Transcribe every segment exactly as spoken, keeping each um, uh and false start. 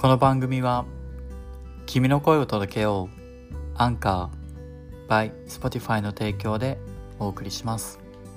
この番組は君の声を届けようアンカー by Spotify の提供でお送りします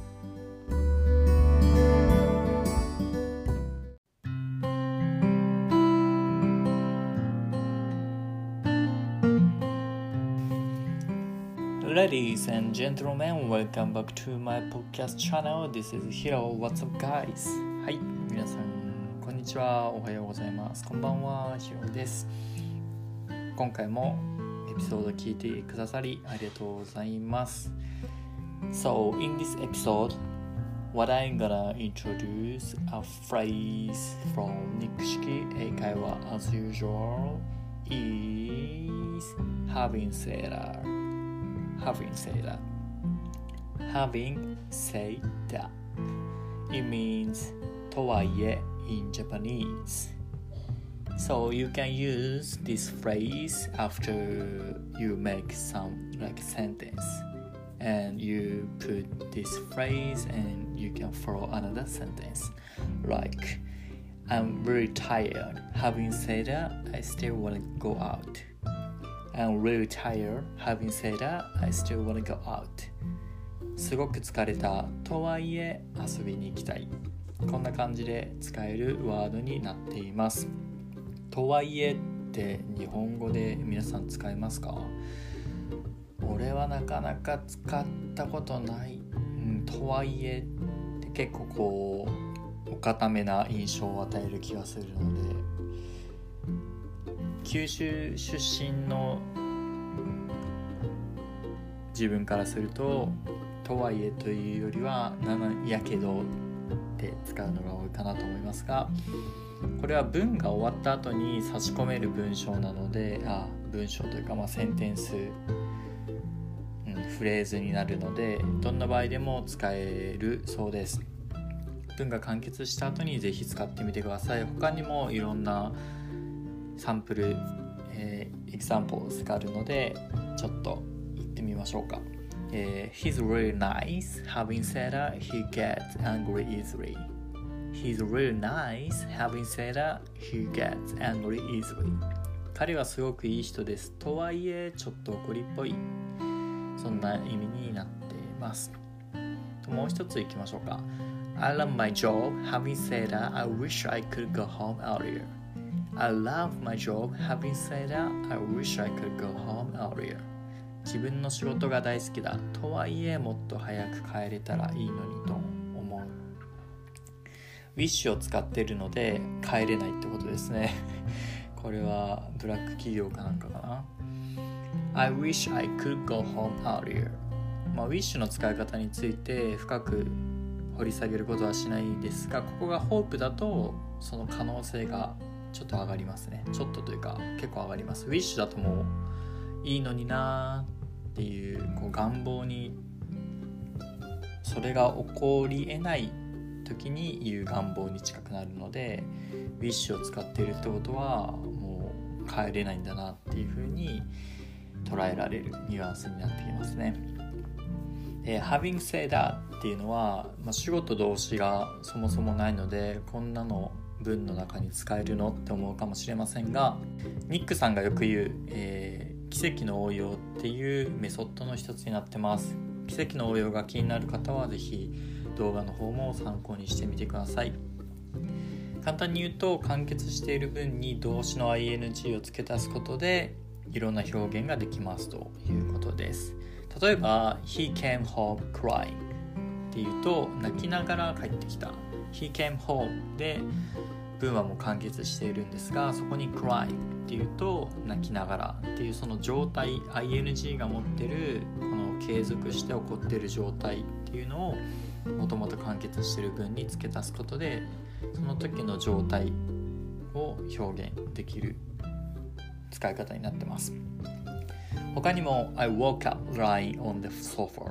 。Ladies and gentlemen, welcome back to my podcast channel. This is Hiro. What's up, guys? はい、皆さんこんにちは。おはようございます。こんばんは、ヒロです。今回もエピソード聞いてくださりありがとうございます。So, in this episode, what I'm gonna introduce a phrase from 肉式英会話 as usual is having said that.Having said that, having said that, it means とはいえ in Japanese. So you can use this phrase after you make some like sentence, and you put this phrase and you can follow another sentence. Like, I'm very tired. Having said that, I still want to go out.I'm really tired. Having said that, I still want to go out. すごく疲れた。とはいえ遊びに行きたい。こんな感じで使えるワードになっています。とはいえって日本語で皆さん使いますか？俺はなかなか使ったことない。うん、とはいえって結構こうお固めな印象を与える気がするので、九州出身の自分からするととはいえというよりはなんやけどって使うのが多いかなと思いますが、これは文が終わった後に差し込める文章なので、あ文章というかまあセンテンス、うん、フレーズになるのでどんな場合でも使えるそうです。文が完結した後にぜひ使ってみてください。他にもいろんなサンプル、えー、examples があるのでちょっと言ってみましょうか。えー、He's really nice. Having said that, he gets angry easily. He's really nice. Having said that, he gets angry easily. 彼はすごくいい人です。とはいえちょっと怒りっぽい。そんな意味になっています。もう一ついきましょうか。I love my job. Having said that, I wish I could go home earlier.I love my job. Having said that, I wish I could go home earlier. 自分の仕事が大好きだ。とはいえもっと早く帰れたらいいのにと思う。wish を使っているので帰れないってことですね。これはブラック企業かなんかかな。I wish I could go home earlier. まあ wish の使い方について深く掘り下げることはしないですが、ここが hope だとその可能性がちょっと上がりますね。ちょっとというか結構上がります。ウィッシュだともういいのになーっていう、こう願望にそれが起こり得ない時に言う願望に近くなるので、ウィッシュを使っているってことはもう帰れないんだなっていう風に捉えられるニュアンスになってきますね。で Having said that っていうのは、まあ、主語と動詞がそもそもないのでこんなの文の中に使えるのって思うかもしれませんが、ニックさんがよく言う、えー、奇跡の応用っていうメソッドの一つになってます。奇跡の応用が気になる方はぜひ動画の方も参考にしてみてください。簡単に言うと、完結している文に動詞の アイエヌジー を付け足すことでいろんな表現ができますということです。例えば He came home crying っていうと泣きながら帰ってきた。He came home で文はもう完結しているんですが、そこに crying っていうと泣きながらっていうその状態 アイエヌジー が持ってるこの継続して起こっている状態っていうのをもともと完結している文に付け足すことでその時の状態を表現できる使い方になってます。他にも I woke up lying on the sofa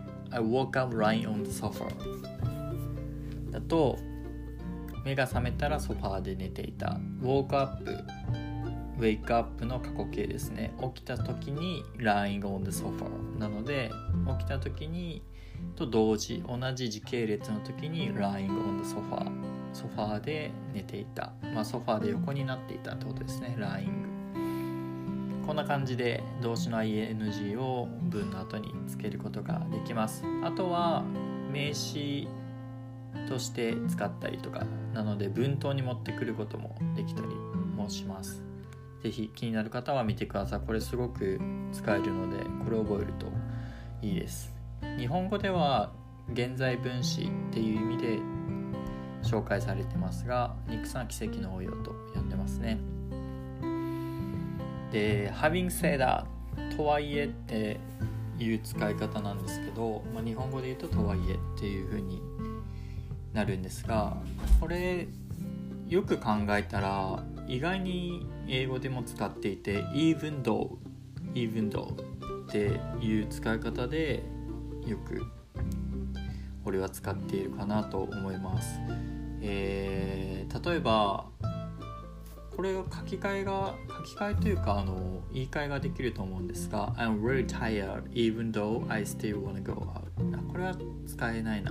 I woke up lying on the sofa だと目が覚めたらソファーで寝ていた。 woke up wake up の過去形ですね。起きた時に lying on the sofa なので起きた時にと同時同じ時系列の時に lying on the sofa ソファーで寝ていた、まあ、ソファーで横になっていたってことですね。lying。こんな感じで動詞の アイエヌジー を文の後につけることができます。あとは名詞として使ったりとかなので文頭に持ってくることもできたりもします。ぜひ気になる方は見てください。これすごく使えるのでこれを覚えるといいです。日本語では現在分詞っていう意味で紹介されてますが、ニクさんは奇跡の応用と呼んでますね。で having said that とはいえっていう使い方なんですけど、まあ、日本語で言うととはいえっていう風になるんですが、これよく考えたら意外に英語でも使っていて even though even though っていう使い方でよく俺は使っているかなと思います。えー、例えばこれが書き換えが書き換えというかあの言い換えができると思うんですが I'm really tired even though I still wanna go out。 これは使えないな。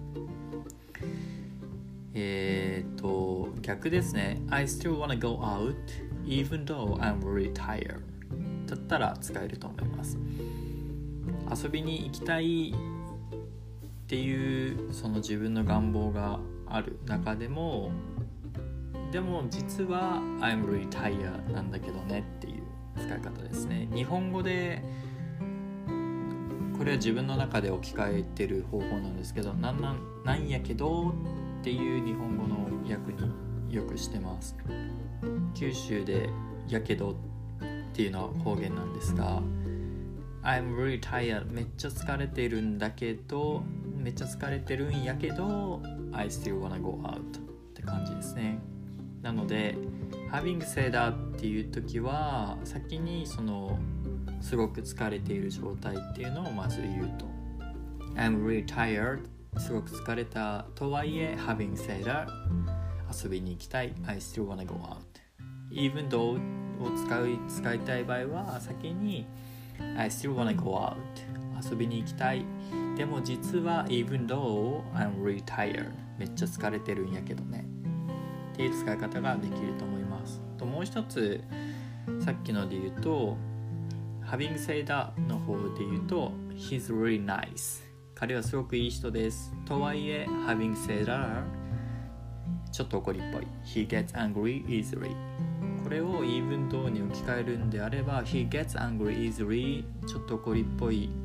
えーと逆ですね。 I still wanna go out even though I'm really tired だったら使えると思います。遊びに行きたいっていうその自分の願望がある中でもでも実は I'm really tired なんだけどねっていう使い方ですね。日本語でこれは自分の中で置き換えてる方法なんですけど、なんなんなんやけどっていう日本語の訳によくしてます。九州でやけどっていうのは方言なんですが、I'm really tired めっちゃ疲れてるんだけどめっちゃ疲れてるんやけど I still wanna go out って感じですね。なので having said that っていう時は先にそのすごく疲れている状態っていうのをまず言うと I'm really tired すごく疲れたとはいえ having said that 遊びに行きたい I still wanna go out even though を使い、使いたい場合は先に I still wanna go out 遊びに行きたいでも実は even though I'm really tired めっちゃ疲れてるんやけどねっていう使い方ができると思います。ともう一つさっきので言うと having said that の方で言うと he's really nice 彼はすごくいい人ですとはいえ having said that ちょっと怒りっぽい he gets angry easily これを even though に置き換えるんであれば he gets angry easily ちょっと怒りっぽい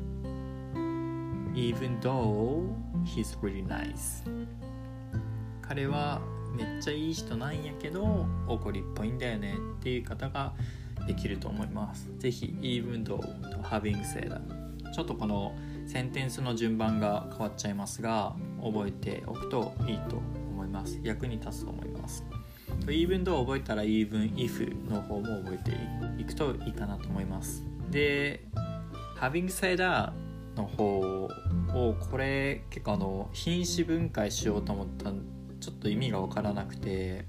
even though he's really nice 彼はめっちゃいい人なんやけど怒りっぽいんだよねっていう方ができると思います。ぜひ even though と having said that ちょっとこのセンテンスの順番が変わっちゃいますが覚えておくといいと思います。役に立つと思います。even though 覚えたら even if の方も覚えていくといいかなと思います。で having said that の方をこれ結構あの品詞分解しようと思ったちょっと意味が分からなくて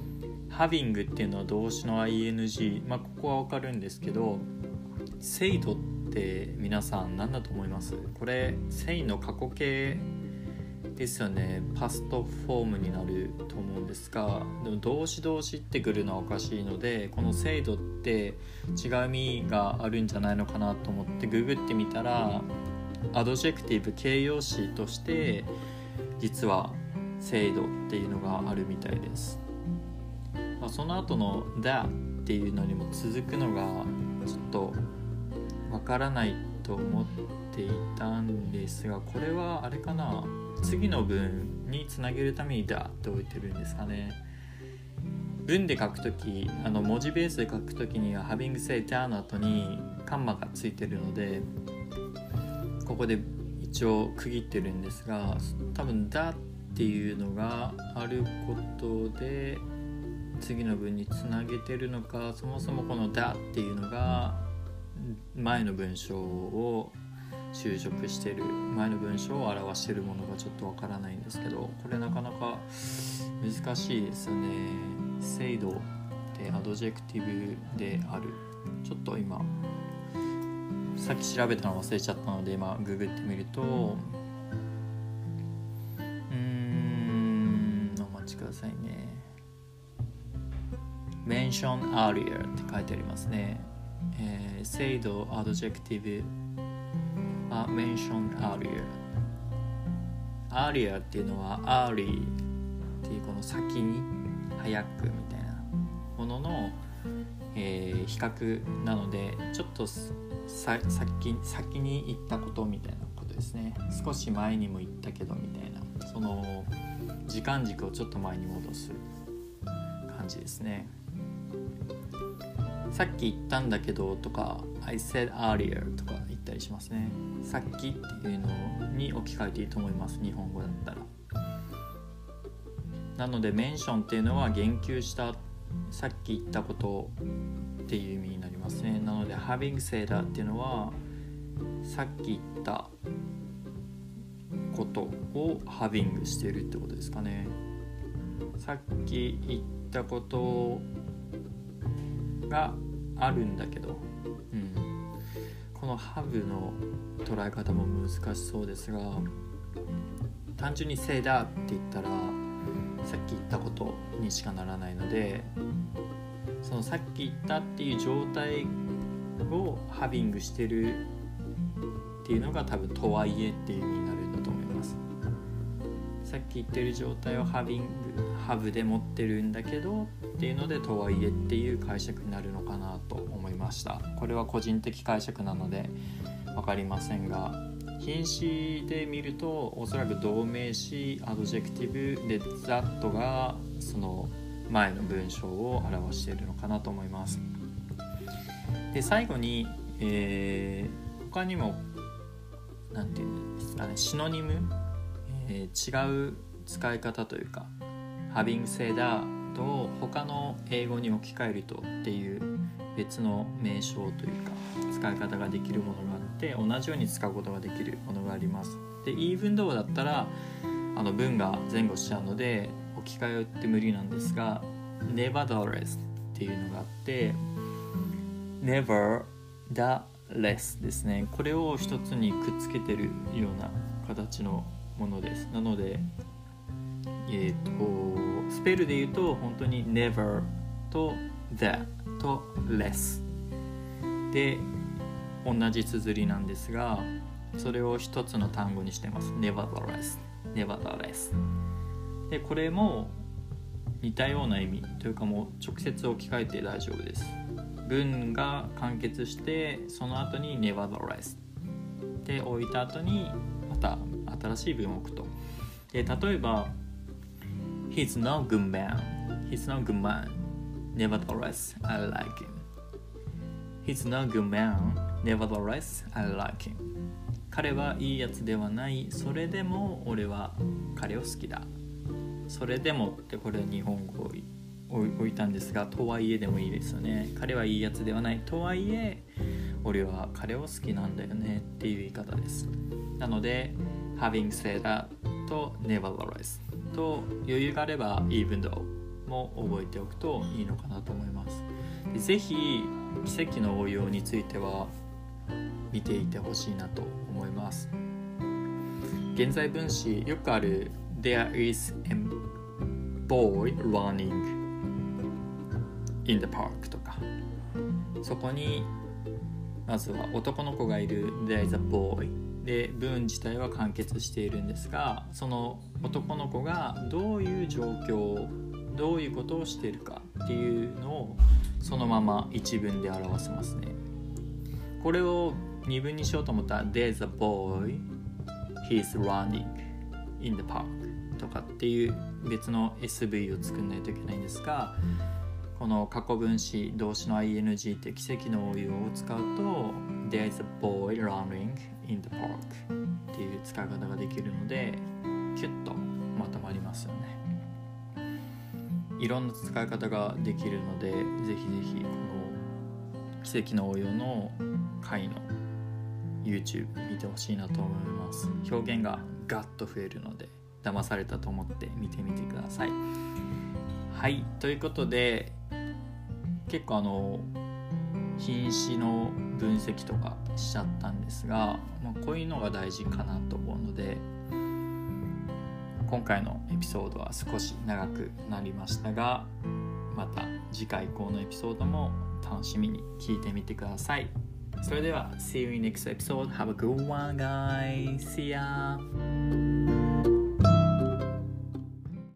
having っていうのは動詞の アイエヌジー、まあここは分かるんですけど said って皆さん何だと思います？これ say の過去形ですよね。パストフォームになると思うんですがでも動詞動詞ってくるのはおかしいのでこの said って違う意味があるんじゃないのかなと思ってググってみたらアドジェクティブ形容詞として実は制度っていうのがあるみたいです。まあ、その後の that っていうのにも続くのがちょっとわからないと思っていたんですがこれはあれかな次の文につなげるために that って置いてるんですかね。文で書くときあの文字ベースで書くときには having said that の後にカンマがついてるのでここで一応区切ってるんですが多分 thatっていうのがあることで次の文につなげてるのかそもそもこの that っていうのが前の文章を修飾してる前の文章を表してるものがちょっとわからないんですけどこれなかなか難しいですよね。制度ってアドジェクティブであるちょっと今さっき調べたの忘れちゃったので今ググってみるとうーんお待ちくくださいね。mention earlier って書いてありますね。えー、制度 adjective は mention earlier earlier っていうのは early っていうこの先に早くみたいなものの、えー、比較なのでちょっとさ先, 先に言ったことみたいなことですね。少し前にも言ったけどみたいなその時間軸をちょっと前に戻す感じですね。さっき言ったんだけどとか I said earlier とか言ったりしますね。さっきっていうのに置き換えていいと思います、日本語だったら。なのでメンションっていうのは言及したさっき言ったことっていう意味になりますね。なので having said っていうのはさっき言ったことを having しているってことですかね。さっき言ったことがあるんだけど、うん、この have の捉え方も難しそうですが、単純に say だって言ったらさっき言ったことにしかならないので、そのさっき言ったっていう状態を having してるっていうのが多分とはいえっていう意味になるんだと思います。さっき言ってる状態を having have で持ってるんだけどっていうのでとはいえっていう解釈になるのかなと思いました。これは個人的解釈なので分かりませんが、品詞で見るとおそらく動名詞アドジェクティブで that がその前の文章を表しているのかなと思います。で最後に、えー、他にもなんていうんですかね、シノニム、えー、違う使い方というか having said that と他の英語に置き換えるとっていう別の名称というか使い方ができるものがあって同じように使うことができるものがあります。で even though だったらあの文が前後しちゃうので置き換えって無理なんですが nevertheless っていうのがあって、 never the less ですね。これを一つにくっつけてるような形のものです。なのでえっとスペルで言うと本当に never と the と less で同じ綴りなんですが、それを一つの単語にしてます。 nevertheless nevertheless でこれも似たような意味というかもう直接置き換えて大丈夫です。文が完結してその後に nevertheless で置いた後にまた新しい文を置くと。で例えば He's no good man He's no good man Nevertheless I like him He's no good man Nevertheless I like him 彼はいいやつではない、それでも俺は彼を好きだ。それでもってこれは日本語を置いたんですが、とはいえでもいいですよね。彼はいいやつではない、とはいえ俺は彼を好きなんだよねっていう言い方です。なので having said that と nevertheless と余裕があれば even though も覚えておくといいのかなと思います。ぜひ奇跡の応用については見ていてほしいなと思います。現在分詞よくある There is a boy running in the park とか、そこにまずは男の子がいる There is a boy で文自体は完結しているんですが、その男の子がどういう状況どういうことをしているかっていうのをそのまま一文で表せますね。これを二文にしようと思ったら There's a boy He's running in the park とかっていう別の エスブイ を作んないといけないんですが、この過去分詞動詞の アイエヌジー って奇跡の応用を使うと There's a boy running in the park っていう使い方ができるのでキュッとまとまりますよね。いろんな使い方ができるのでぜひぜひこの奇跡の応用の回の YouTube 見てほしいなと思います。表現がガッと増えるので騙されたと思って見てみてください。はい、ということで結構あの品詞の分析とかしちゃったんですが、まあ、こういうのが大事かなと思うので今回のエピソードは少し長くなりましたが、また次回以降のエピソードも楽しみに聞いてみてください。それでは See you in next episode. Have a good one, guys. See ya.